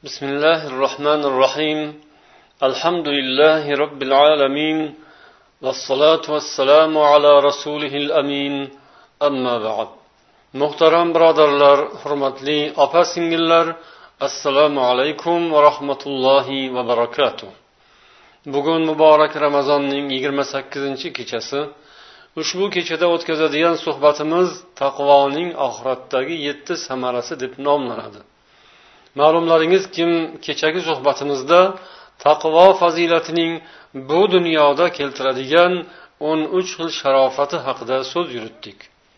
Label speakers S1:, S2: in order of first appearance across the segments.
S1: بسم الله الرحمن الرحيم الحمد لله رب العالمين والصلاة والسلام على رسوله الأمين أما بعد Muhtaram birodarlar, hurmatli opa-singillar, assalomu alaykum va rahmatullohi va barakatuh. Bugun muborak Ramazonning 28-kechasi. Ushbu kechada o'tkazadigan suhbatimiz taqvoning oxiratdagi 7 samarasi deb nomlanadi. Ma'lumlaringiz kim, kechagi suhbatimizda taqvo fazilatining bu dunyoda keltiradigan 13 xil sharofati haqida so'z yuritdik.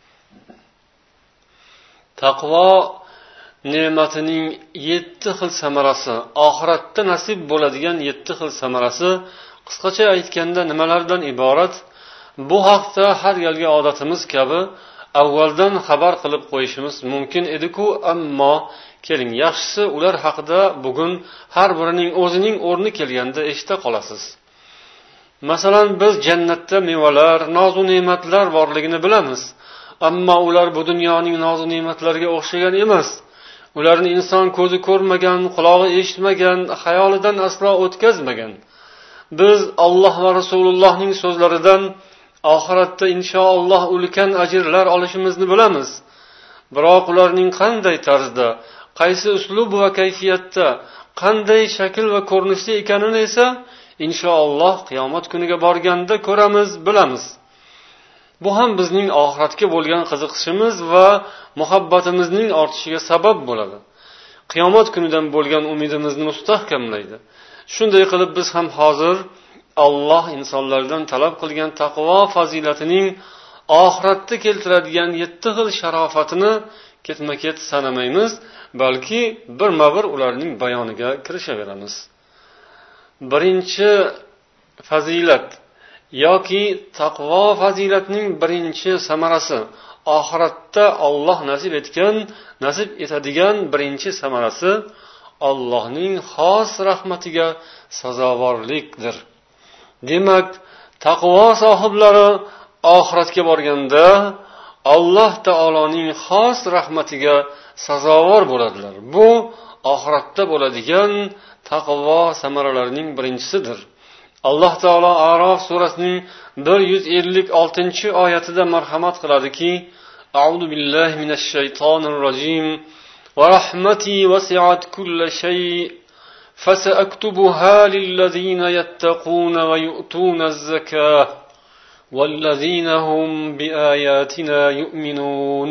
S1: Taqvo ne'matining 7 xil samarasi, oxiratda nasib bo'ladigan 7 xil samarasi qisqacha aytganda nimalardan iborat? Bu haqda har galgi odatimiz kabi avvaldan xabar qilib qo'yishimiz mumkin edi-ku, ammo keling, yaxshisi ular haqida bugun har birining o'zining o'rni kelganda eshita qolasiz. Masalan, biz jannatda mevalar, noz va ne'matlar borligini bilamiz. Ammo ular bu dunyoning noz va ne'matlariga o'xshagan emas. Ularni inson ko'zi ko'rmagan, quloqi eshitmagan, xayolidan aslo o'tkazmagan. Biz Alloh va Rasulullohning so'zlaridan oxiratda inshaalloh ulkan ajrlar olishimizni bilamiz. Biroq ularning qanday tarzda, qaysi uslub va kayfiyatda, qanday shakl va ko'rinishda ekanini esa inshaalloh qiyomat kuniga borganda ko'ramiz, bilamiz. Bu ham bizning oxiratga bo'lgan qiziqishimiz va muhabbatimizning ortishiga sabab bo'ladi. Qiyomat kunidan bo'lgan umidimizni mustahkamlaydi. Shunday qilib biz ham hozir Alloh insonlardan talab qilgan taqvo fazilatining oxiratda keltiradigan 7 xil sharofatini ketma-ket sanamaymiz, balki birma-bir ularning bayoniga kirishaveramiz. Birinchi fazilat yoki taqvo fazilatining birinchi samarasi, oxiratda Alloh nasib etadigan birinchi samarasi Allohning xos rahmatiga sazovorlikdir. Demak, taqvo sohiblari oxiratga borganda Alloh taoloning xos rahmatiga sazovor bo'ladilar. Bu oxiratda bo'ladigan taqvo samaralarining birinchisidir. Alloh taolo A'rof surasining 156-oyatida marhamat qiladiki: A'udhu billahi minash shaytonir rojim. Va rahmati wasi'at kulla shay. فسأكتبها للذين يتقون ويؤتون الزكاة والذين هم بآياتنا يؤمنون.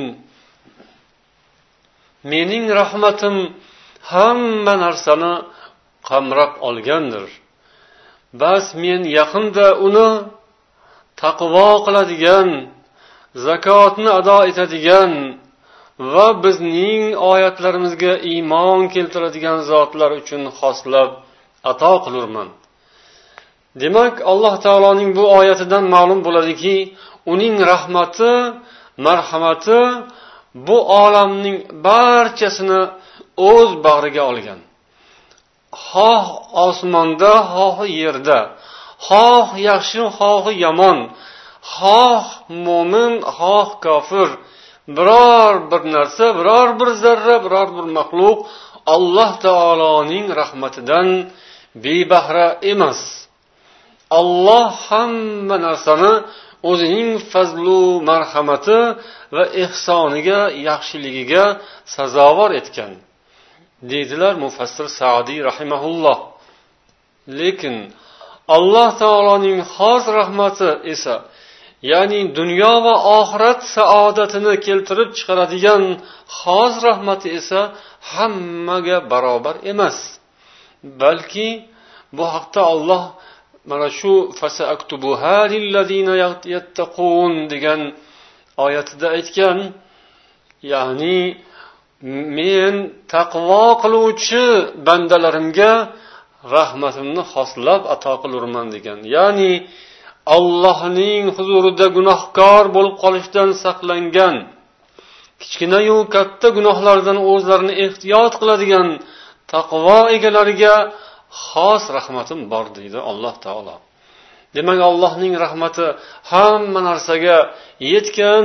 S1: Mening rahmatim hamma narsani qamrab olgandir. Bas men yaqinda uni taqvo qiladigan, zakotni ado etadigan va bizning oyatlarimizga iymon keltiradigan zotlar uchun xoslab ato qilurman. Demak, Alloh taoloning bu oyatidan ma'lum bo'ladiki, uning rahmati, marhamati bu olamning barchasini o'z bag'riga olgan. Xoh osmonda, xoh yerda, xoh yaxshi, xoh yomon, xoh mo'min, xoh kofir, biror bir narsa, biror bir zarra, biror bir maxluq Alloh taoloning rahmatidan bebahra emas. Alloh hamma narsani o'zining fazlu marhamati va ihsoniga, yaxshiligiga sazovor etgan, deydilar mufassir Sa'diy rahimahulloh. Lekin Alloh taoloning xos rahmati esa, ya'ni dunyo va oxirat saodatini keltirib chiqaradigan xos rahmati esa hammaga barobar emas. Balki bu haqda Alloh mana shu fasaktubuha lillazina yattaqun degan oyatida aytgan, ya'ni men taqvo qiluvchi bandalarimga rahmatimni xoslab ato qilurman degan. Ya'ni Allohning huzurida gunohkor bo'lib qolishdan saqlangan, kichkina-yu katta gunohlardan o'zlarini ehtiyot qiladigan taqvo egalariga xos rahmatim bor deydi Alloh taolo. Demak, Allohning rahmati hamma narsaga yetgan,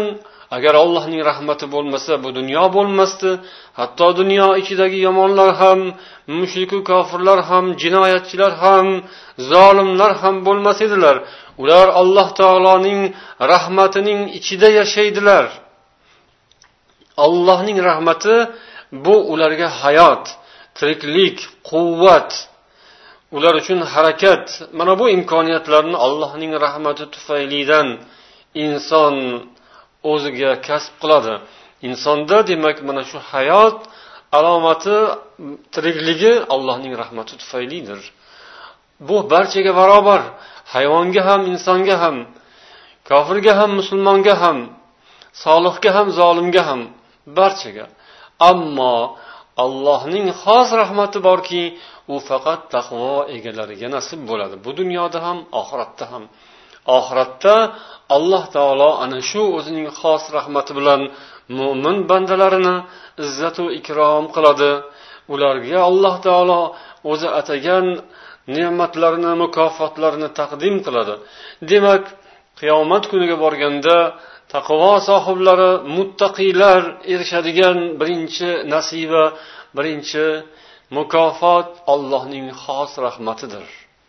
S1: agar Allohning rahmati bo'lmasa bu dunyo bo'lmasdi. Hatto dunyo ichidagi yomonlar ham, mushriku kofirlar ham, jinoyatchilar ham, zolimlar ham bo'lmas edilar. Ular Alloh taoloning rahmatining ichida yashaydilar. Allohning rahmati bu ularga hayot, tiriklik, quvvat, ular uchun harakat. Mana bu imkoniyatlarni Allohning rahmati tufaylidan inson o'ziga kasb qiladi. Insonda demak mana shu hayot alomati, tirikligi Allohning rahmati tufaylidir. Bu barchaga barobar, hayvonga ham, insonga ham, kofirga ham, musulmonga ham, solihga ham, zolimga ham, barchaga. Ammo Allohning xos rahmati borki, u faqat taqvo egalariga nasib bo'ladi. Bu dunyoda ham, oxiratda ham. Oxiratda Alloh taolo ana shu o'zining xos rahmati bilan mu'min bandalarini izzat va ikrom qiladi. Ularga Alloh taolo o'zi atagan ne'matlarni, mukofotlarini taqdim qiladi. Demak, qiyomat kuniga borganda taqvo sohiblari, muttaqiylar erishadigan birinchi nasiba, birinchi mukofot Allohning xos rahmatidir.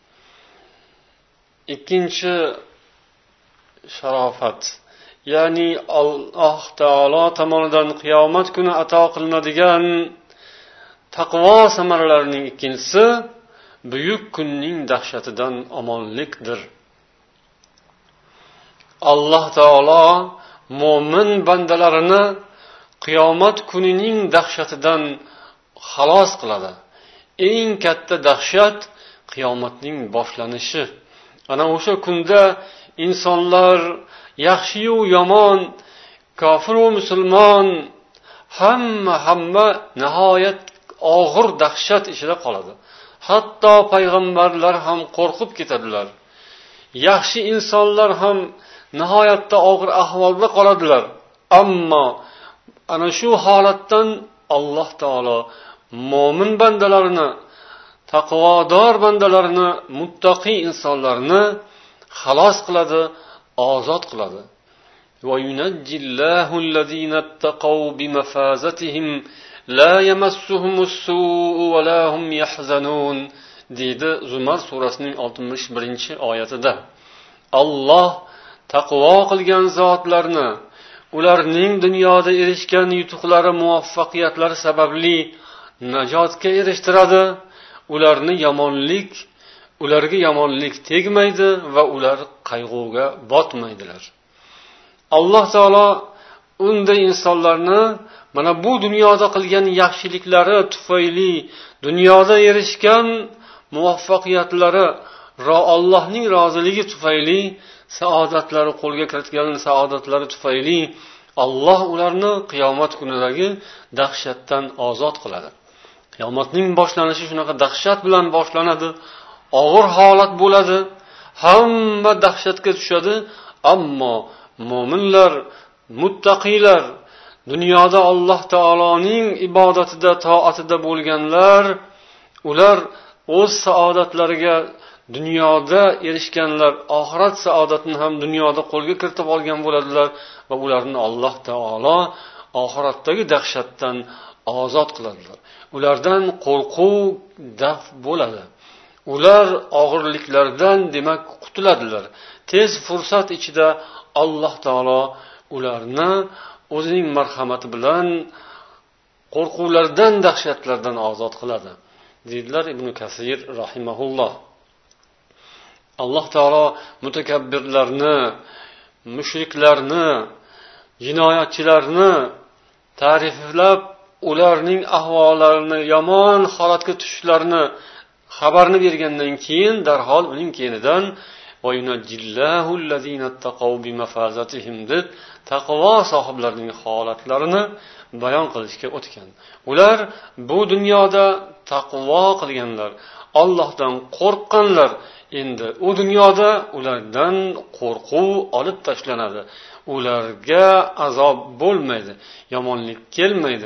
S1: Ikkinchi sharofat, ya'ni Alloh taolo tomonidan qiyomat kuni ato qilinadigan taqvo samaralarining ikkinchisi buyuk kunning dahshatidan omonlikdir. Alloh taolo mo'min bandalarini qiyomat kunining dahshatidan xalos qiladi. Eng katta dahshat qiyomatning boshlanishi. Ana o'sha kunda insonlar yaxshi yu yomon, kofir va musulmon hamma nihoyat og'ir dahshat ichida qoladi. Hatto payg'ambarlar ham qo'rqib ketadilar. Yaxshi insonlar ham nihoyatda og'ir ahvolda qoladilar. Ammo ana shu holatdan Alloh taolo mo'min bandalarini, taqvodor bandalarini, muttaqi insonlarni xalos qiladi, ozod qiladi. Va yunajjillahu allazina taqaw bimafazatihim la yamassuhumus-su'u va la hum yahzanun deydi Zumar surasining 61-oyatida. Alloh taqvo qilgan zotlarni ularning dunyoda erishgan yutuqlari, muvaffaqiyatlari sababli najotga erishtiradi. Ularga yomonlik tegmaydi va ular qayg'uga botmaydilar. Alloh taolo unday insonlarni mana bu dunyoda qilgan yaxshiliklari tufayli, dunyoda erishgan muvaffaqiyatlari, Allohning roziligi tufayli, saodatlari qo'lga kiritgan saodatlari tufayli Alloh ularni qiyomat kunidagi dahshatdan ozod qiladi. Qiyomatning boshlanishi shunaqa dahshat bilan boshlanadi. Og'ir holat bo'ladi. Hamma dahshatga tushadi. Ammo mo'minlar, muttaqiylar, dunyoda Alloh taoloning ibodatida, toatida bo'lganlar, ular o'z saodatlariga dunyoda erishganlar, oxirat saodatini ham dunyoda qo'lga kiritib olgan bo'ladilar va ularni Alloh taolo oxiratdagi dahshatdan ozod qiladilar. Ulardan qo'rquv daf bo'ladi. Ular og'irliklardan demak qutuladilar. Tez fursat ichida Alloh taolo ularni o'zining marhamati bilan qo'rquvlardan, dahshatlardan ozod qiladi. Deydilar Ibn Kasir rahimahulloh. Alloh taolo mutakabbirlarni, mushriklarni, jinoyatchilarni ta'riflab, ularning ahvollarini, yomon holatga tushishlarini xabarni bergandan keyin darhol uning keyinidan وَيُنَجِّلَّهُ الَّذِينَ اتَّقَوْا بِمَفَازَتِهِمْ deb taqvo sohiblarining holatlarini bayon qilishga o'tgan. Ular bu dunyoda taqvo qilganlar, Allohdan qo'rqqanlar. Endi u dunyoda ulardan qo'rquv olib tashlanadi. Ularga azob bo'lmaydi, yomonlik kelmaydi.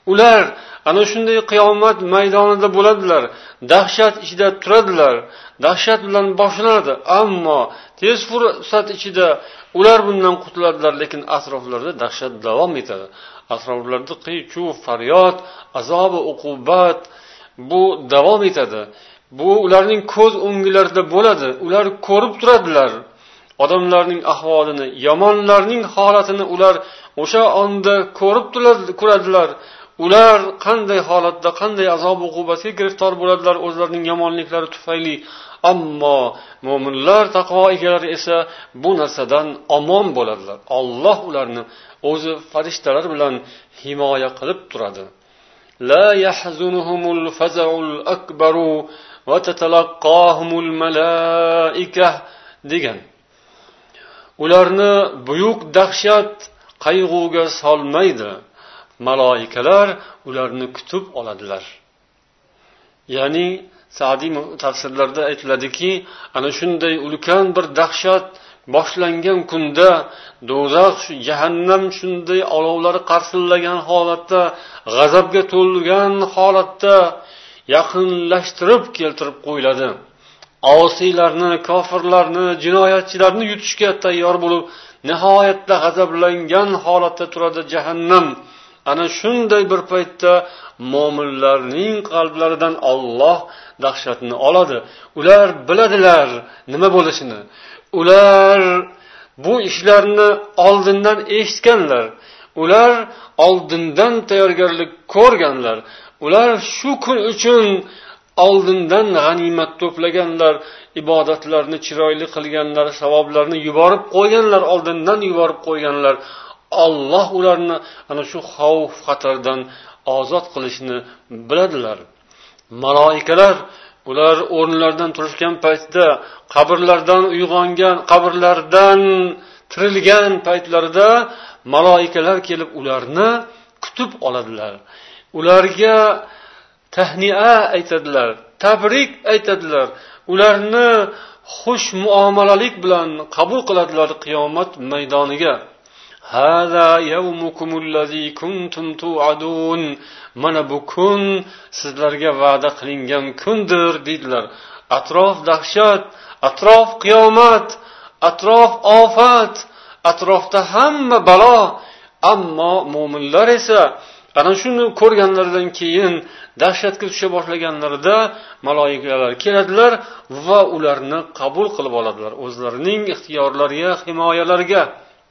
S1: Ular ana shunday qiyomat maydonida bo'ladilar, dahshat ichida turadilar, dahshat bilan boshlanadi, ammo tez fursat ichida ular bundan qutuladilar, lekin atroflarida dahshat davom etadi. Atroflarida qiy-chuv, faryod, azob va uqubat bu davom etadi. Bu ularning ko'z o'nglarida bo'ladi. Ular ko'rib turadilar. Odamlarning ahvolini, yomonlarning holatini ular o'sha onda ko'rib turadilar. Ular qanday holatda, qanday azob uqubatga giriftor bo'ladilar o'zlarining yomonliklari tufayli. Ammo mo'minlar, taqvo egalari esa bu narsadan omon bo'ladilar. Alloh ularni o'zi farishtalar bilan himoya qilib turadi. La yahzunuhumul faza'ul akbaru va tatalaqahumul malaikah degan. Ularni buyuk dahshat qayg'uga solmaydi. Maloikalar ularni kutib oladilar. Ya'ni Sa'diy tafsirlarda aytiladiki, ana shunday ulkan bir dahshat boshlangan kunda do'zax, jahannam shunday olovlari qarsillagan holatda, g'azabga to'lgan holatda yaqinlashtirib keltirib qo'yiladi. Osiylarni, kofirlarni, jinoyatchilarni yutishga tayyor bo'lib, nihoyatda g'azablangan holatda turadi jahannam. Ana shunday bir paytda mo'minlarning qalblaridan Alloh dahshatni oladi. Ular biladilar nima bo'lishini. Ular bu ishlarni oldindan eshitganlar. Ular oldindan tayyorgarlik ko'rganlar. Ular shu kun uchun oldindan g'animat to'plaganlar, ibodatlarni chiroyli qilganlar, savoblarni yuborib qo'yganlar, oldindan yuborib qo'yganlar. Alloh ularni ana shu xavf xatardan ozod qilishni biladilar. Maloikalar ular o'rnlaridan turishgan paytda, qabrlardan uyg'ongan, qabrlardan tirilgan paytlarida maloikalar kelib ularni kutib oladilar. Ularga tahniya aytadilar, tabrik aytadilar. Ularni xush muomalalik bilan qabul qiladilar qiyomat maydoniga. Hada yawmukumul-lazi kuntum tu'adun. Mana bu kun sizlarga va'da qilingan kundir dedilar. Atrof dahshat, atrof qiyomat, atrof ofat, atrofda hamma balo. Ammo mo'minlar esa ana shuni ko'rganlaridan keyin dahshatga tusha boshlaganlarida maloikalar keladilar va ularni qabul qilib oladilar o'zlarining ixtiyorlariga, himoyalariga.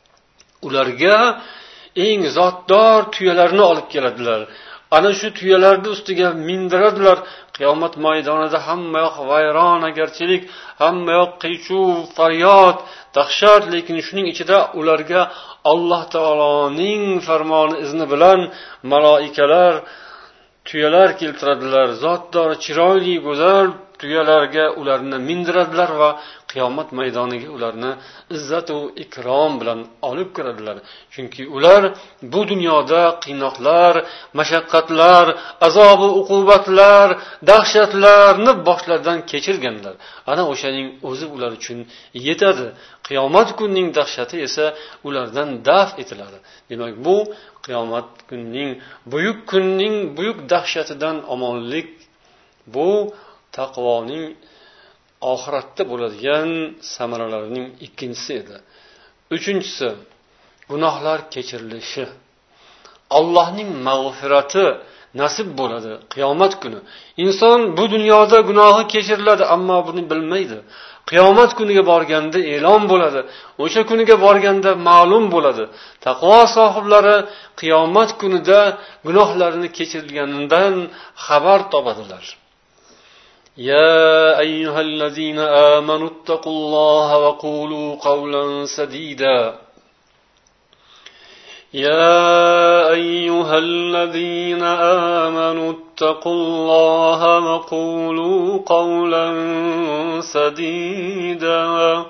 S1: Ularga eng zotdor tuyalarni olib keladilar. Ana shu tuyalarning ustiga mindiradilar. Qiyomat maydonida hamma yoq vayronagarchilik, hamma yoq qiy-chuv, faryod, dahshat, lekin shuning ichida ularga Alloh taoloning farmoni izni bilan maloikalar tuyalar keltiradilar. Zotdor, chiroyli, go'zal tuyalarga ularni mindiradilar va qiyomat maydoniga ularni izzat va ikrom bilan olib kiradilar. Chunki ular bu dunyoda qiynoqlar, mashaqqatlar, azob va uqubatlar, dahshatlarni boshlaridan kechirganlar. Ana o'shaning o'zi ular uchun yetadi. Qiyomat kunining dahshati esa ulardan daf etiladi. Demak, bu qiyomat kunning buyuk dahshatidan omonlik, bu taqvoning oxiratda bo'ladigan samaralarining ikkinchisi edi. Uchinchisi, gunohlar kechirilishi. Allohning mag'firati nasib bo'ladi qiyomat kuni. Inson bu dunyoda gunohi kechiriladi, ammo buni bilmaydi. Qiyomat kuniga borganda e'lon bo'ladi. O'sha kuniga borganda ma'lum bo'ladi. Taqvo sohiblari qiyomat kunida gunohlarini kechirilganidan xabar topadilar. يا أيها الذين آمنوا اتقوا الله وقولوا قولا سديدا يا أيها الذين آمنوا اتقوا الله وقولوا قولا سديدا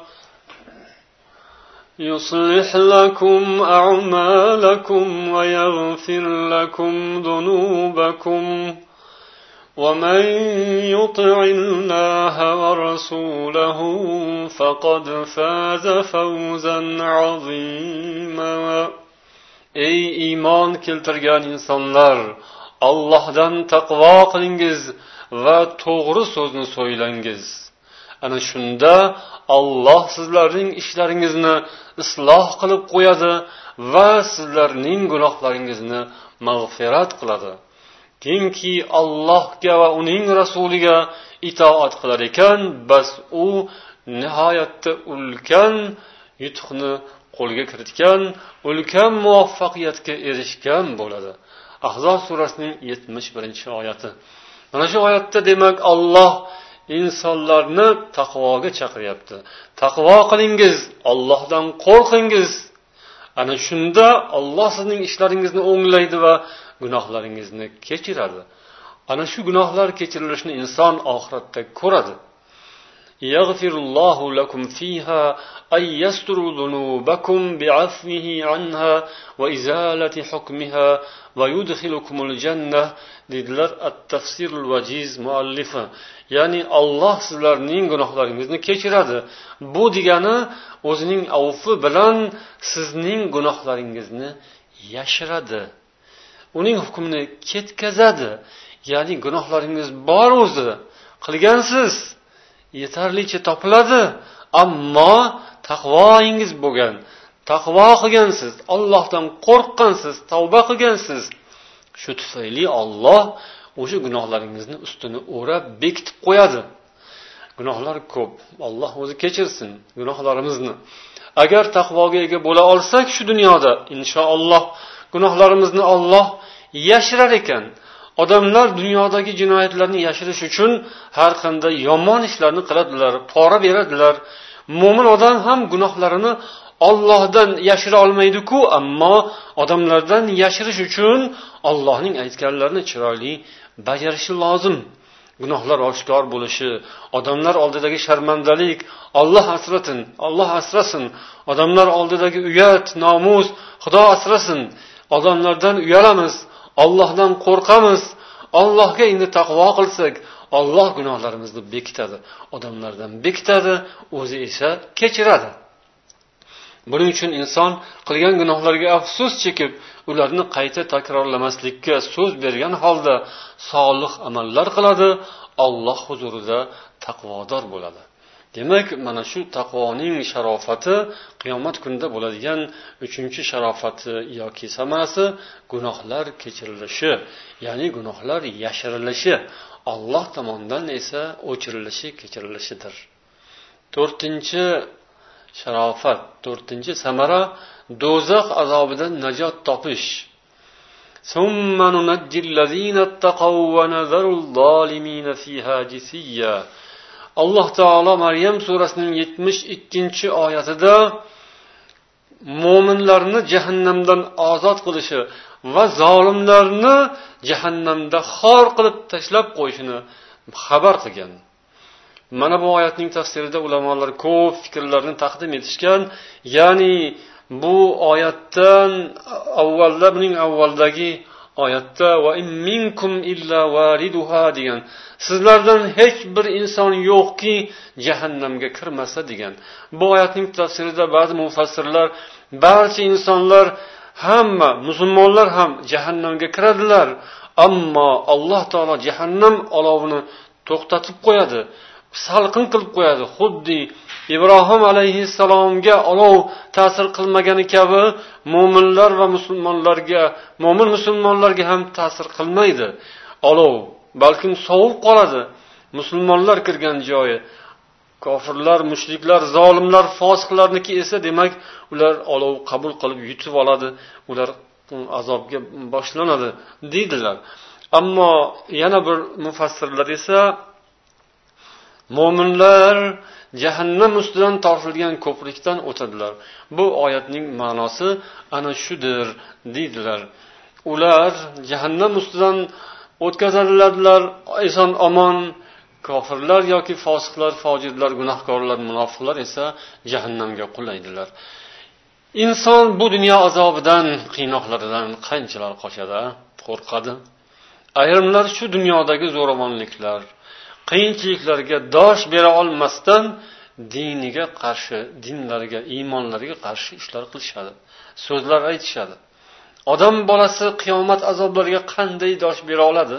S1: يصلح لكم أعمالكم ويغفر لكم ذنوبكم ومن يطع الله ورسوله فقد فاز فوزا عظيما ey iymon keltirgan insonlar, Allohdan taqvo qilingiz va to'g'ri so'zni so'ylangiz. Ana shunda Alloh sizlarning ishlaringizni isloh qilib qo'yadi va sizlarning gunohlaringizni mag'firat qiladi. Kimki Allohga va uning rasuliga itoat qilar ekan, bas u nihoyatda ulkan yutuqni qo'lga kiritgan, ulkan muvaffaqiyatga erishgan bo'ladi. Ahzob surasining 71-oyati. Mana shu oyatda demak Alloh insonlarni taqvoga chaqiryapti. Taqvo qilingiz, Allohdan qo'rqingiz. Ana shunda Alloh sizning ishlaringizni o'nglaydi va gunohlaringizni kechiradi. Ana shu gunohlar kechirilishini inson oxiratda ko'radi. Yaghfirullohu lakum fiha ay yasturu dhunubakum bi'afwihi anha va izalati hukmiha va yudkhilukumul jannah dedilar at-tafsirul vajiz muallifi. Ya'ni Alloh sizlarning gunohlaringizni kechiradi. Bu degani o'zining avfi bilan sizning gunohlaringizni yashiradi. Uning hukmini ketkazadi. Ya'ni gunohlaringiz bor o'zi, qilgansiz, yetarlicha topiladi, ammo taqvoingiz bo'lgan, taqvo qilgansiz, Allohdan qo'rqqansiz, tavba qilgansiz. Shu tufayli Alloh o'sha gunohlaringizni ustini o'rab bekitib qo'yadi. Gunohlar ko'p. Alloh o'zi kechirsin gunohlarimizni. Agar taqvoga ega bo'la olsak shu dunyoda, inshaalloh gunohlarimizni Alloh yashirar ekan. Odamlar dunyodagi jinoyatlarni yashirish uchun har qanday yomon ishlarni qiladilar, pora beradilar. Mo'min odam ham gunohlarini Allohdan yashira olmaydi-ku, ammo odamlardan yashirish uchun Allohning aytganlarini chiroyli bajarishi lozim. Gunohlar oshkor bo'lishi, odamlar oldidagi sharmandalik, Alloh asratin, Alloh asrasin. Odamlar oldidagi uyat, nomus, Xudo asrasin. Odamlardan uyalamiz, Allohdan qo'rqamiz. Allohga endi taqvo qilsak, Alloh gunohlarimizni bekitadi, odamlardan bekitadi, o'zi esa kechiradi. Buning uchun inson qilgan gunohlarga afsus chekib, ularni qayta takrorlamaslikka so'z bergan holda solih amallar qiladi, Alloh huzurida taqvodor bo'ladi. Demak, mana shu taqvoning sharofati qiyomat kunida bo'ladigan 3-sharofati yoki samarasi gunohlar kechirilishi, ya'ni gunohlar yashirilishi, Alloh tomonidan esa o'chirilishi, kechirilishidir. 4-sharofat, 4-samara do'zax azobidan najot topish. Summa nunajjil ladzina taqaw va nazarul zolimina fiha jisiyya. Alloh taolo Maryam surasining 72-oyatida mo'minlarni jahannamdan ozod qilishi va zolimlarni jahannamda xor qilib tashlab qo'yishini xabar qilgan. Mana bu oyatning tafsirida ulamolar ko'p fikrlarni taqdim etishgan. Ya'ni bu oyatdan avvalda, buning avvaldagi oyatda va in minkum illa wariduha degan, sizlardan hech bir inson yo'qki jahannamga kirmasa degan. Bu oyatning tafsirida ba'zi mufassirlar barcha insonlar, hamma musulmonlar ham jahannamga kiradilar, ammo Alloh taolo jahannam olovini to'xtatib qo'yadi, salqin qilib qo'yadi. Xuddi Ibrohim alayhissalomga olov ta'sir qilmagani kabi mu'minlar va musulmonlarga, mu'min musulmonlarga ham ta'sir qilmaydi olov, balkim sovib qoladi. Musulmonlar kirgan joyi, kofirlar, mushriklar, zolimlar, fosiqlarniki esa demak ular olov qabul qilib yutib oladi, ular azobga boshlanadi deydilar. Ammo yana bir mufassirlar esa mo'minlar jahannam ustidan tortilgan ko'prikdan o'tadilar. Bu oyatning ma'nosi ana shudir deydilar. Ular jahannam ustidan o'tkaziladilar, eson omon. Kofirlar yoki fosiqlar, fojirlar, gunohkorlar, munofiqlar esa jahannamga qulaydilar. Inson bu dunyo azobidan, qiynoqlaridan qanchalar qochadi, qo'rqadi. Ayrimlar shu dunyodagi zo'ravonliklar, qiyinchiliklarga dosh bera olmasdan diniga qarshi, dinlariga, iymonlariga qarshi ishlar qilishadi, so'zlar aytishadi. odam bolasi qiyomat azoblariga qanday dosh bera oladi?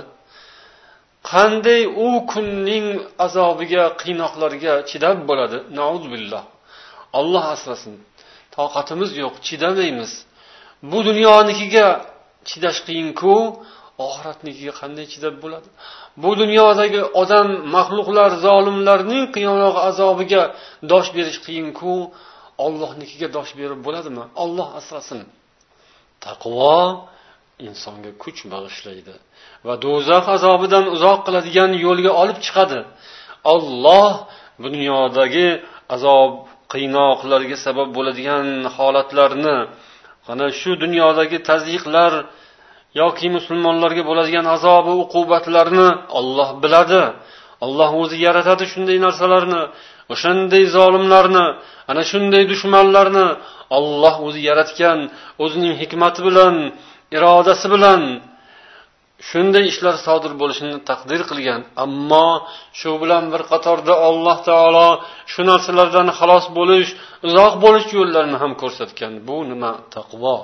S1: Qanday u kunning azobiga, qiynoqlarga chidab bo'ladi? Nauzubillah. Alloh asrasin. Toqatimiz yo'q, chidamaymiz. Bu dunyonikiga chidash qiyin-ku, oxiratnikiga qanday chidab bo'ladi? Bu dunyodagi odam, maxluqlar, zolimlarning qiyomat azobiga dosh berish qiyin-ku, Allohnikiga dosh berib bo'ladimi? Alloh asrasin. Taqvo insonga kuch bag'ishlaydi va do'zax azobidan uzoq qiladigan yo'lga olib chiqadi. Alloh bu dunyodagi azob, qiynoqlarga sabab bo'ladigan holatlarni, ana shu dunyodagi tazyiqlar yoki musulmonlarga bo'ladigan azob va uqubatlarni Alloh biladi. Alloh o'zi yaratadi shunday narsalarni, o'shanday zolimlarni, ana shunday dushmanlarni Alloh o'zi yaratgan, o'zining hikmati bilan, irodasi bilan shunday ishlar sodir bo'lishini taqdir qilgan. Ammo shu bilan bir qatorda Alloh taolo shu narsalardan xalos bo'lish, uzoq bo'lish yo'llarini ham ko'rsatgan. Bu nima? Taqvo.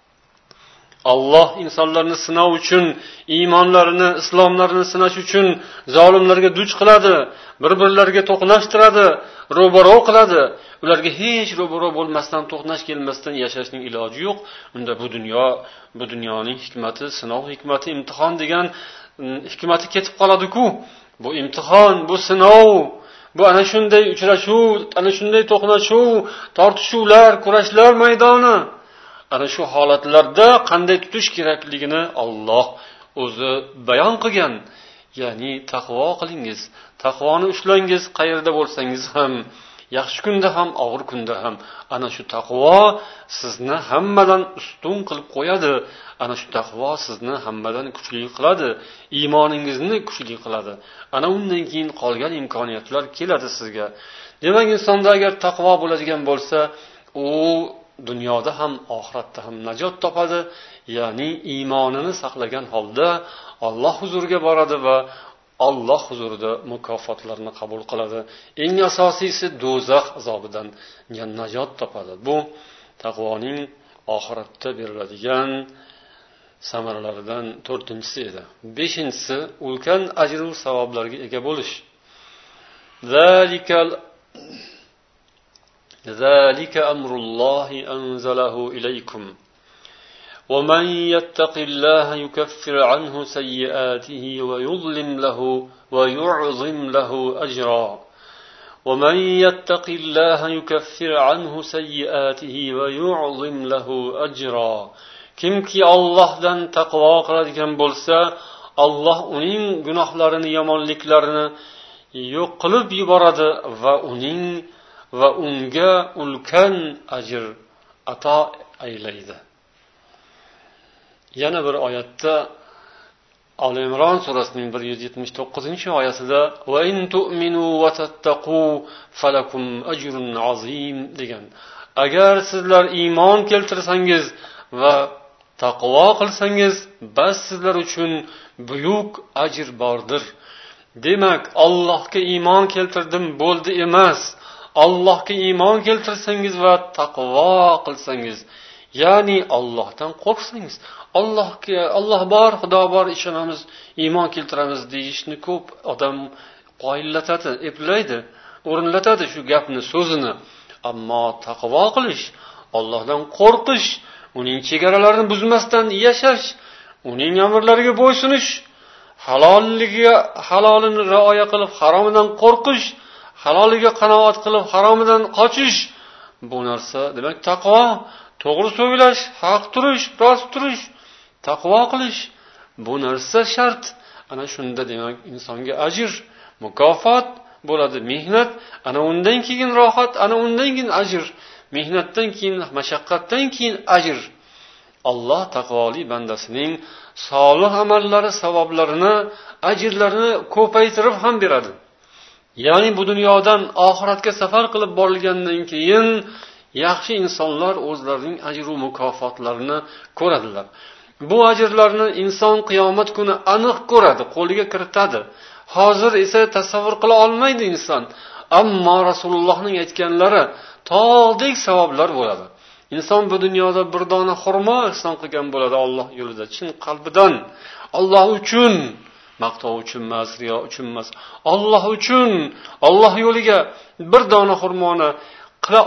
S1: Alloh insonlarni sinov uchun, iymonlarini, islomlarini sinash uchun zolimlarga duch qiladi, bir-birlariga to'qnashtiradi, ro'baro qiladi. Ularga hech ro'baro bo'lmasdan, to'qnash kelmasdan yashashning iloji yo'q. Unda bu dunyoning hikmati, sinov hikmati, imtihon degan hikmati ketib qoladi-ku. Bu imtihon, bu sinov, bu ana shunday uchrashuv, ana shunday to'qnashuv, tortishuvlar, kurashlar maydoni. Ana shu holatlarda qanday tutish kerakligini Alloh o'zi bayon qilgan. Ya'ni taqvo qilingiz, taqvoni ushlangiz, qayerda bo'lsangiz ham, yaxshi kunda ham, og'ir kunda ham. Ana shu taqvo sizni hammadan ustun qilib qo'yadi. Ana shu taqvo sizni hammadan kuchli qiladi, iymoningizni kuchli qiladi. Ana undan keyin qolgan imkoniyatlar keladi sizga. Demak, insonda agar taqvo bo'ladigan bo'lsa, u dunyoda ham, oxiratda ham najot topadi. Ya'ni iymonini saqlagan holda Alloh huzuriga boradi va Alloh huzurida mukofotlarni qabul qiladi. Eng asosiysi do'zax azobidan najot topadi. Bu taqvoning oxiratda beriladigan samaralaridan 4-si edi. 5-si ulkan ajr va savoblarga ega bo'lish. ذلك أمر الله أنزله إليكم ومن يتق الله يكفر عنه سيئاته ويعظم له أجرا ومن يتق الله يكفر عنه سيئاته ويعظم له أجرا kimki Allohdan taqvo qiladigan bo'lsa, Alloh uning gunohlarini, yomonliklarini yo'q qilib yuboradi va unga ulkan ajr ato aylaydi. Yana bir oyatda Al Imron surasining 179-oyatida va in tu'minu va tattaqu falakum ajrun azim degan. Agar sizlar iymon keltirsangiz va taqvo qilsangiz, bas sizlar uchun buyuk ajr bordir. Demak, Allohga iymon keltirdim bo'ldi emas. Allohga iymon keltirsangiz va taqvo qilsangiz, ya'ni Allohdan qo'rqsangiz, Alloh bor, Xudo bor, ishonamiz, iymon keltiramiz deyishni ko'p odam qoyillatadi, eplaydi, o'rinlatadi shu gapni, so'zini. Ammo taqvo qilish, Allohdan qo'rqish, uning chegaralarini buzmasdan yashash, uning amrlariga bo'ysunish, halolini rioya qilib, haromidan qo'rqish, haloliga qanoat qilib, haromidan qochish. Bu narsa demak taqvo, to'g'ri so'zlash, haq turish, rost turish, taqvo qilish. Bu narsa shart. Ana shunda demak insonga ajr, mukofot bo'ladi. Mehnat, ana undan keyin rohat, ana undan keyin ajr. Mehnatdan keyin, mashaqqatdan keyin ajr. Alloh taqvoli bandasining solih amallari, savoblarini, ajrlarini ko'paytirib ham beradi. Ya'ni bu dunyodan oxiratga safar qilib borilgandan keyin yaxshi insonlar o'zlarining ajr va mukofotlarini ko'radilar. Bu ajrlarni inson qiyomat kuni aniq ko'radi, qo'liga kiritadi. Hozir esa tasavvur qila olmaydi inson. Ammo Rasulullohning aytganlari tog'dek savoblar bo'ladi. inson bu dunyoda bir dona xurmo ihson qilgan bo'ladi Alloh yo'lida, chin qalbidan, Alloh uchun, maqtov uchun emas, riyo uchun emas, Alloh uchun, Alloh yo'liga bir dona xurmoni qila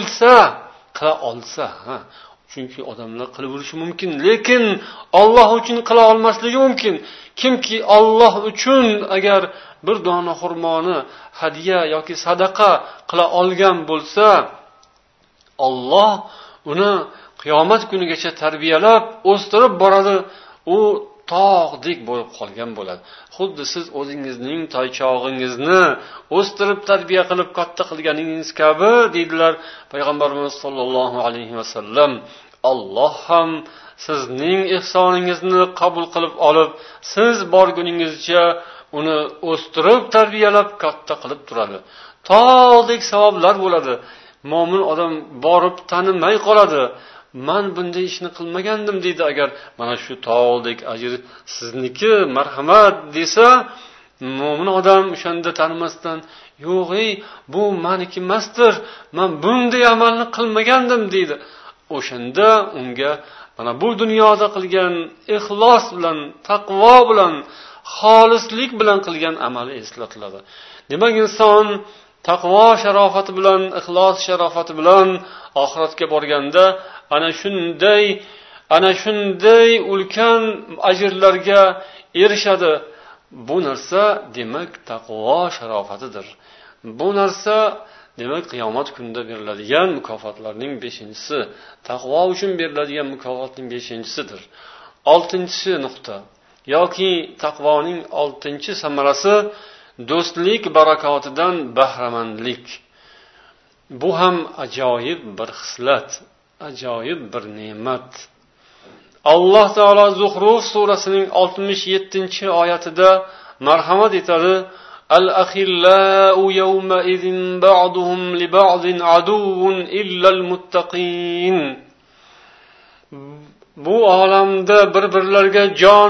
S1: olsa, chunki odamlar qilib yurishi mumkin, lekin Alloh uchun qila olmasligi mumkin. Kimki Alloh uchun agar bir dona xurmoni hadiya yoki sadaqa qila olgan bo'lsa, Alloh uni qiyomat kunigacha tarbiyalab, o'stirib boradi. U tog'dek bo'lib qolgan bo'ladi. Xuddi siz o'zingizning toychog'ingizni o'stirib tarbiya qilib katta qilganingiz kabi deydilar payg'ambarimiz sollallohu alayhi vasallam. Alloh ham sizning ihsoningizni qabul qilib olib, siz borguningizcha uni o'stirib tarbiyalab katta qilib turadi. Tog'dek savoblar bo'ladi. Mo'min odam borib tanimay qoladi. Men bunday ishni qilmagandim deydi. Agar mana shu tog'dek ajr sizniki, marhamat desa, mo'min odam o'shanda tanimasdan, yo'q, bu meniki emasdir, men bunday amalni qilmagandim deydi. O'shanda unga mana bu dunyoda qilgan ixlos bilan, taqvo bilan, xolislik bilan qilgan amali eslatiladi. Demak, inson taqvo sharofati bilan, ixlos sharofati bilan oxiratga borganda ana shunday ulkan ajrlarga erishadi. Bu narsa demak taqvo sharofatidir. Bu narsa demak qiyomat kunida beriladigan mukofotlarning 5-si, taqvo uchun beriladigan mukofotning 5-sidir. 6-nuqta yoki taqvoning 6-samarasi do'stlik barakotidan bahramandlik. Bu ham ajoyib bir xislat, ajoyib bir ne'mat. Alloh taolo Zuhruf surasining 67-oyatida marhamat etadi: Al-akhillau yawma idin ba'duhum li ba'din aduwwun illa al-muttaqin. Bu olamda bir-birlariga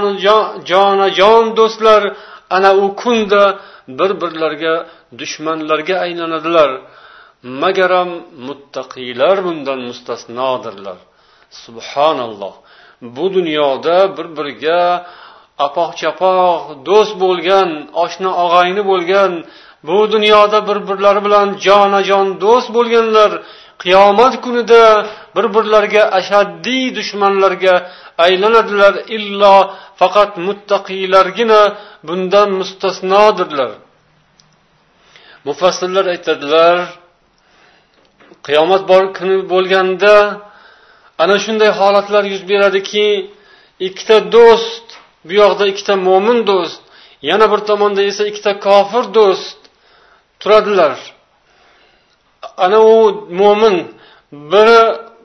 S1: jonajon do'stlar ana u kunda bir-birlariga dushmanlarga aylanadilar. Magaram muttaqiylar bundan mustasnodirlar. Subhanalloh. Bu dunyoda bir-biriga apoq-chapoq do'st bo'lgan, oshna og'ayni bo'lgan, bu dunyoda bir-birlari bilan jonajon do'st bo'lganlar qiyomat kunida bir-birlariga ashaddiy dushmanlarga aylanadilar. Illo faqat muttaqiylargina bundan mustasnodirlar. Mufassirlar aytadilar, qiyomat kuni bo'lganda ana shunday holatlar yuz beradiki, ikkita do'st, bu yoqda ikkita mo'min do'st, yana bir tomonda esa ikkita kofir do'st turadilar. Ana u mo'min biri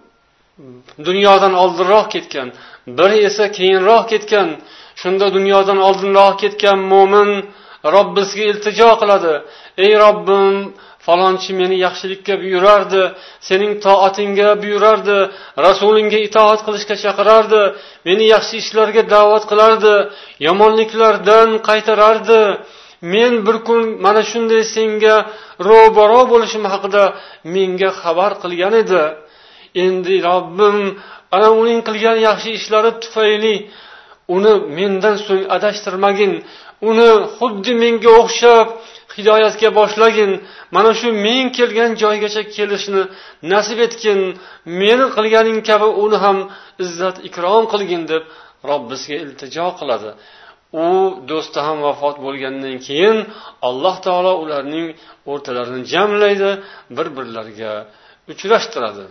S1: dunyodan oldinroq ketgan, biri esa keyinroq ketgan. Shunda dunyodan oldinroq ketgan mo'min Robbisiga iltijo qiladi: "Ey Robbim, falonchi meni yaxshilikka buyurardi, sening toatingga buyurardi, rasulingga itoat qilishga chaqirardi, meni yaxshi ishlarga da'vat qilardi, yomonliklardan qaytarardi. Men bir kun mana shunday senga ro'baro bo'lishim haqida menga xabar qilgan edi. Endi Robbim, ana uning qilgan yaxshi ishlari tufayli uni mendan so'ng adashtirmagin, uni xuddi menga o'xshab hidoyatga boshlagin, mana shu men kelgan joygacha kelishni nasib etgin, meni qilganing kabi uni ham izzat ikrom qilgin" deb Robbisiga iltijo qiladi. U do'sti ham vafot bo'lgandan keyin Alloh taolo ularning o'rtalarini jamlaydi, bir-birlariga uchrashtiradi.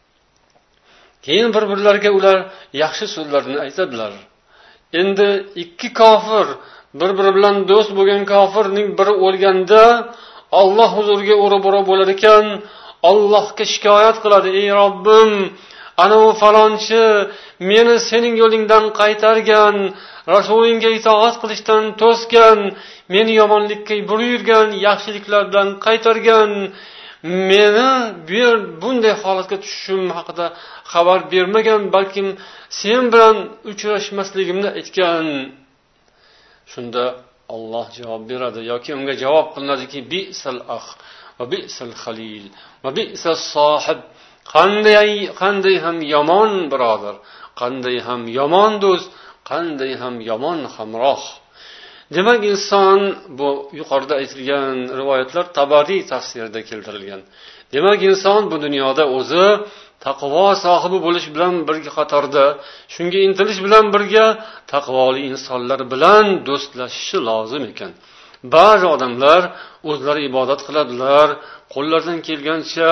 S1: Keyin bir-birlariga ular yaxshi so'zlarni aytadilar. Endi ikki kofir, bir-biri bilan do'st bo'lgan kofirning biri o'lganda Alloh huzuriga o'ra-bora bo'lar ekan, Allohga shikoyat qiladi: "Ey Robbim, ana u falonchi meni sening yo'lingdan qaytargan, rasulingga itoat qilishdan to'sgan, meni yomonlikka buyurgan, yaxshiliklardan qaytargan, meni bunday holatga tushishim haqida xabar bermagan, balkim sen bilan uchrashmasligimni aytgan." Shunda Alloh javob beradi yoki unga javob qilinadiki: "Bi'sal akh va bi'sal khalil va bi'sas sohib qanday ham yomon birodar, qanday ham yomon do'st, qanday ham yomon hamroh. Demak, inson, bu yuqorida aytilgan rivoyatlar Tabariy tafsirida keltirilgan. Demak, inson bu dunyoda o'zi taqvo sohibi bo'lish bilan birga qatorda, shunga intilish bilan birga taqvoli insonlar bilan do'stlashishi lozim ekan. Ba'zi odamlar o'zlari ibodat qiladilar, qo'llaridan kelgancha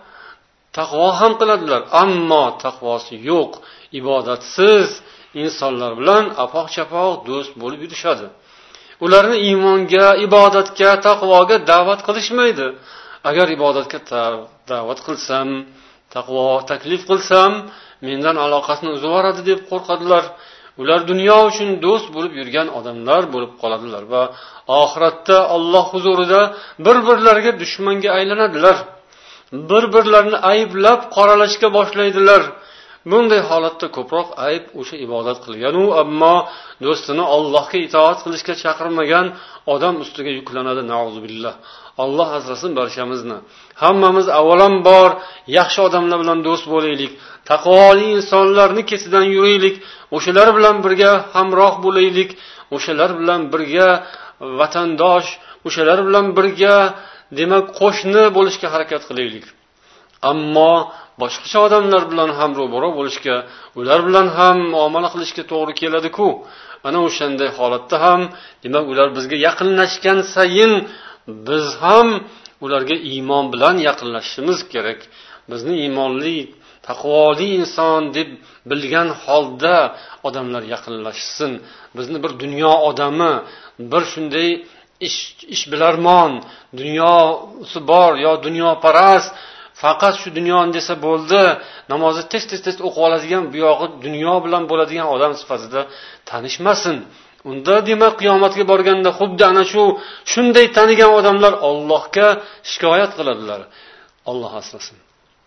S1: taqvo ham qiladilar, ammo taqvosi yo'q, ibodatsiz insonlar bilan apoq-chapoq do'st bo'lib yurishadi. Ularni iymonga, ibodatga, taqvoga da'vat qilishmaydi. Agar ibodatga da'vat qilsam, taqvo taklif qilsam, mendan aloqasini uzib yuboradi deb qo'rqadilar. Ular dunyo uchun do'st bo'lib yurgan odamlar bo'lib qoladilar va oxiratda Alloh huzurida bir-birlariga dushmanga aylanadilar. Bir-birlarini ayblab qoralashga boshlaydilar. Bunday holatda ko'proq ayb o'sha ibodat qilgan-u, ammo do'stini Allohga itoat qilishga chaqirmagan odam ustiga yuklanadi. Nauzubillah. Alloh asrasin barchamizni. Hammamiz avvalambor yaxshi odamlar bilan do'st bo'laylik, taqvoli insonlarni ketidan yuraylik, o'shalar bilan birga hamroh bo'laylik, o'shalar bilan birga vatandosh, o'shalar bilan birga demak qo'shni bo'lishga harakat qilaylik. Ammo boshqacha odamlar bilan ham ro'baro bo'lishga, ular bilan ham muomala qilishga to'g'ri keladi-ku. Ana o'shanday holatda ham demak ular bizga yaqinlashgan sayin biz ham ularga iymon bilan yaqinlashishimiz kerak. Bizni iymonli, taqvoli inson deb bilgan holda odamlar yaqinlashsin. Bizni bir dunyo odami, bir shunday ishbilarmon, dunyosi bor yo dunyoparast, faqat shu dunyoni desa bo'ldi, namozni tez o'qib oladigan, bu yog'i dunyo bilan bo'ladigan odam sifatida tanishmasin. Unda demak qiyomatga borganda xuddi ana shunday tanigan odamlar Allohga shikoyat qiladilar. Alloh asrasin.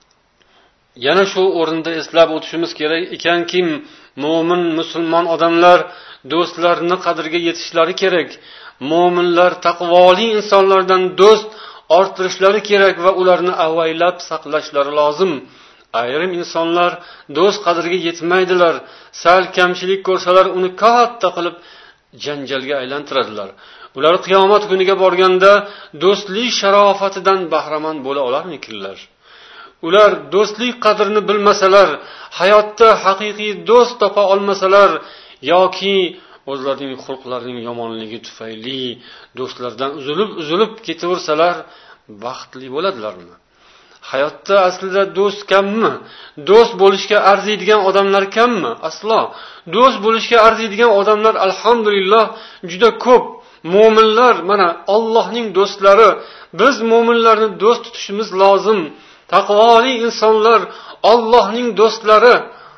S1: Yana shu o'rinda eslab o'tishimiz kerak ekanki, mo'min, musulmon odamlar do'stlarni qadriga yetishlari kerak. Mo'minlar taqvoli insonlardan do'st orttirishlari kerak va ularni avaylab saqlashlari lozim. Ayrim insonlar do'st qadriga yetmaydilar. Sal kamchilik ko'rsalar uni katta qilib janjalga aylantiradilar. Ular qiyomat kuniga borganda do'stlik sharofatidan bahramand bo'la olarmikinlar? Ular do'stlik qadrini bilmasalar, hayotda haqiqiy do'st topa olmasalar yoki o'zlarining xulqlarining yomonligi tufayli do'stlardan uzilib ketaversalar, baxtli bo'ladilarmi? Hayotda aslida do'st kammi? Do'st bo'lishga arziydigan odamlar kammi? Aslo. Do'st bo'lishga arziydigan odamlar alhamdulillah juda ko'p. Mo'minlar, mana Allohning do'stlari, biz mo'minlarni do'st tutishimiz lozim. Taqvoli insonlar Allohning do'stlari.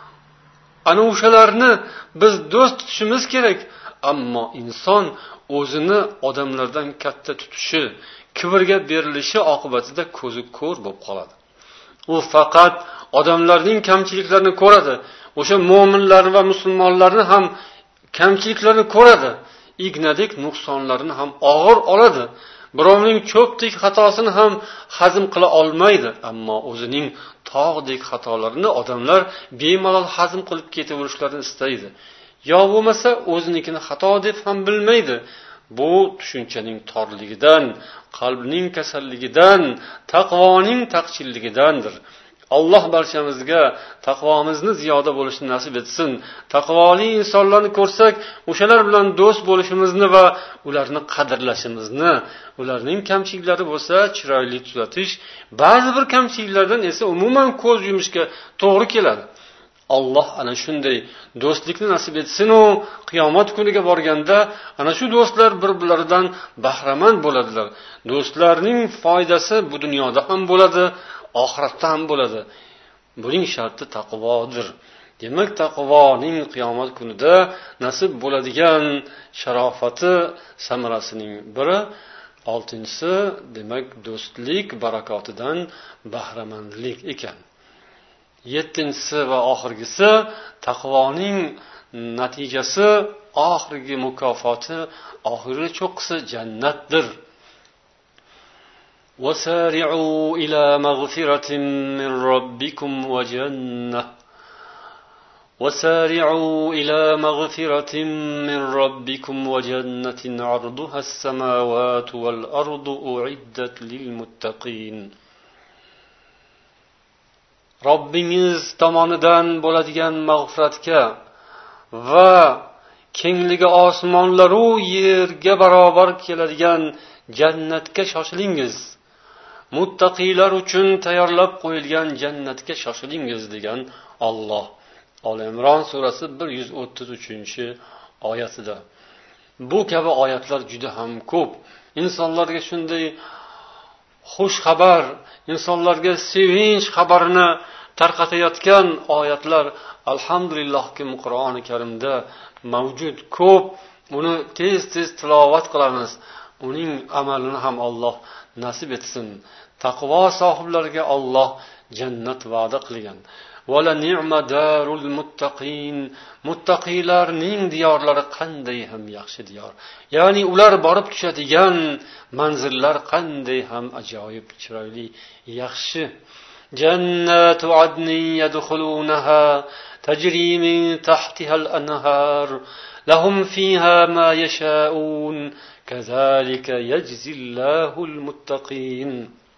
S1: Ana o'shalarni biz do'st tutishimiz kerak. Ammo inson o'zini odamlardan katta tutishi, kibrga berilishi oqibatida ko'zi ko'r bo'lib qoladi. U faqat odamlarning kamchiliklarini ko'radi. O'sha mo'minlar va musulmonlarni ham kamchiliklarini ko'radi. Ignadek nuqsonlarini ham og'ir oladi. Birovning cho'pdek xatosini ham hazm qila olmaydi, ammo o'zining tog'dek xatolarini odamlar bemalol hazm qilib ketaverishlarini istaydi. Yo bo'lmasa o'zinikini xato deb ham bilmaydi. Bu tushunchaning torligidan, qalbning kasalligidan, taqvoning taqchilligidandir. Alloh barchamizga taqvomizni ziyoda bo'lishni nasib etsin. Taqvoli insonlarni ko'rsak, o'shalar bilan do'st bo'lishimizni va ularni qadrlashimizni, ularning kamchiliklari bo'lsa chiroyli tuzatish, ba'zi bir kamchiliklardan esa umuman ko'z yumishga to'g'ri keladi. Alloh ana shunday do'stlikni nasib etsin-u, qiyomat kuniga borganda ana shu do'stlar bir-birlaridan bahramand bo'ladilar. Do'stlarning foydasi bu dunyoda ham bo'ladi, oxiratda ham bo'ladi. Buning sharti taqvodir. Demak, taqvoning qiyomat kunida nasib bo'ladigan sharofati samarasining biri, 6-si demak do'stlik barakotidan bahramandlik ekan. 7-si va oxirgisi taqvoning natijasi, oxirgi mukofoti, oxirgi cho'qqisi jannatdir. وسارعوا إلى مغفرة من ربكم وجنة وسارعوا إلى مغفرة من ربكم وجنة عرضها السماوات والأرض أعدت للمتقين. Robbingiz tomonidan bo'ladigan mag'firatga va kengligi osmonlar u yerga barobar keladigan jannatga shoshilingiz. Muttaqiylar uchun tayyorlab qo'yilgan jannatga shoshilingiz degan Alloh. Oli Imron surasi 133-oyatida. Bu kabi oyatlar juda ham ko'p. Insonlarga shunday xush xabar, insonlarga sevinch xabarini tarqatayotgan oyatlar alhamdulillahki Qur'oni Karimda mavjud ko'p. Uni tez-tez tilovat qilamiz. Uning amalini ham Alloh nasib etsin. Taqvo sohiblariga Alloh jannat va'da qilgan. Wala ni'ma darul muttaqin. Muttaqilarning diyorlari qanday ham yaxshi diyor. Ya'ni ular borib tushadigan manzillar qanday ham ajoyib, chiroyli, yaxshi. Jannatu adnin yadkhulunaha tajri min tahtiha al-anhar lahum fiha ma yasha'un kazalika yajzillahu al-muttaqin.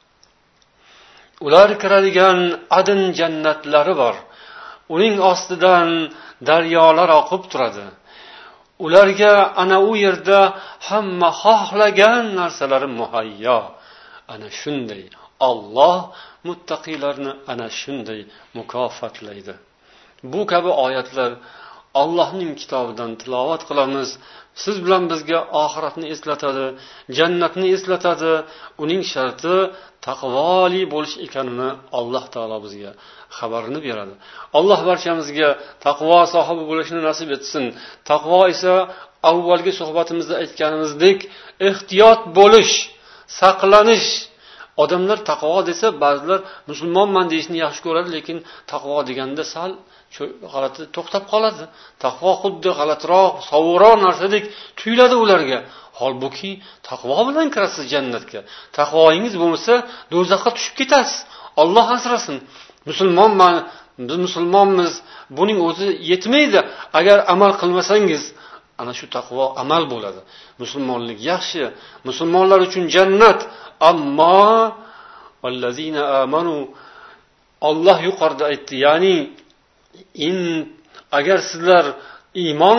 S1: Ular kiradigan adn jannatlari bor. Uning ostidan daryolar oqib turadi. Ularga ana u yerda hamma xohlagan narsalari muhayyo. Ana shunday Alloh muttaqilarni ana shunday mukofotlaydi. Bu kabi oyatlar Allohning kitobidan tilovat qilamiz. Siz bilan bizga oxiratni eslatadi, jannatni eslatadi. Uning sharti taqvoli bo'lish ekanini Alloh taolo bizga xabarini beradi. Alloh barchamizga taqvo sohibi bo'lishni nasib etsin. Taqvo esa avvalgi suhbatimizda aytganimizdek, ehtiyot bo'lish, saqlanish. Odamlar taqvo desa, ba'zilar musulmonman deyishni yaxshi ko'radi, lekin taqvo deganda sal g'alati to'xtab qoladi. Taqvo xuddi g'alatiroq, sovuqroq narsadek tuyuladi ularga. Holbuki taqvo bilan kirasiz jannatga. Taqvoingiz bo'lmasa, do'zaxga tushib ketasiz. Alloh asrasin. Musulmonman, biz musulmonmiz, buning o'zi yetmaydi. Agar amal qilmasangiz, ana shu taqvo amal bo'ladi. Musulmonlik yaxshi, musulmonlar uchun jannat. Ammo vallazina amanu, Alloh yuqorida aytdi, ya'ni agar sizlar iymon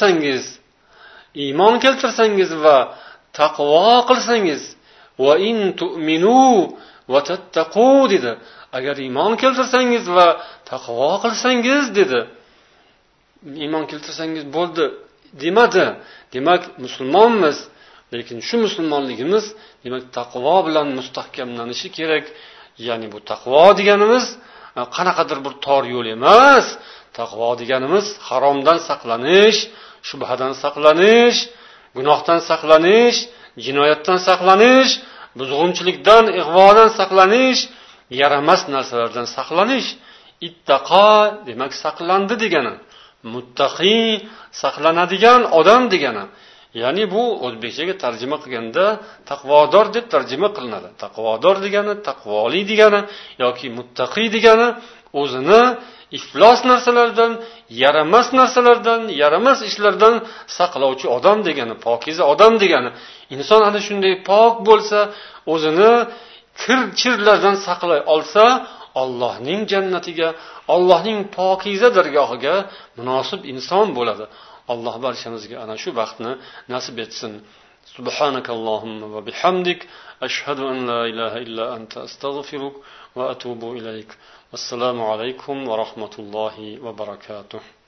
S1: keltirsangiz va taqvo qilsangiz, va in tu'minu va tattaqu dedi. Agar iymon keltirsangiz va taqvo qilsangiz dedi. Iymon keltirsangiz bo'ldi demadi. Demak, musulmonmiz. Lekin shu musulmonligimiz demak taqvo bilan mustahkamlanishi kerak. Ya'ni bu taqvo deganimiz qanaqadir bir tor yo'l emas. Taqvo deganimiz haromdan saqlanish, shubhadan saqlanish, gunohdan saqlanish, jinoyatdan saqlanish, buzg'unchilikdan, ig'vodan saqlanish, yaramas narsalardan saqlanish. Ittaqa demak saqlandi degani. Muttaqi saqlanadigan odam degani. Ya'ni bu o'zbekchaga tarjima qilganda taqvodor deb tarjima qilinadi. Taqvodor degani taqvoli degani yoki muttaqi degani o'zini iflos narsalardan, yaramas ishlardan saqlovchi odam degani, pokiza odam degani. Inson ana shunday pok bo'lsa, o'zini kir-chirlardan saqlay olsa, Allohning jannatiga, Allohning pokiza dargohiga munosib inson bo'ladi. Alloh barchamizga ana shu baxtni nasib etsin. Subhanakallohumma va bihamdik, ashhadu an la ilaha illa anta astaghfiruk va atubu ilayk. Assalomu alaykum va rahmatullohi va barakatuh.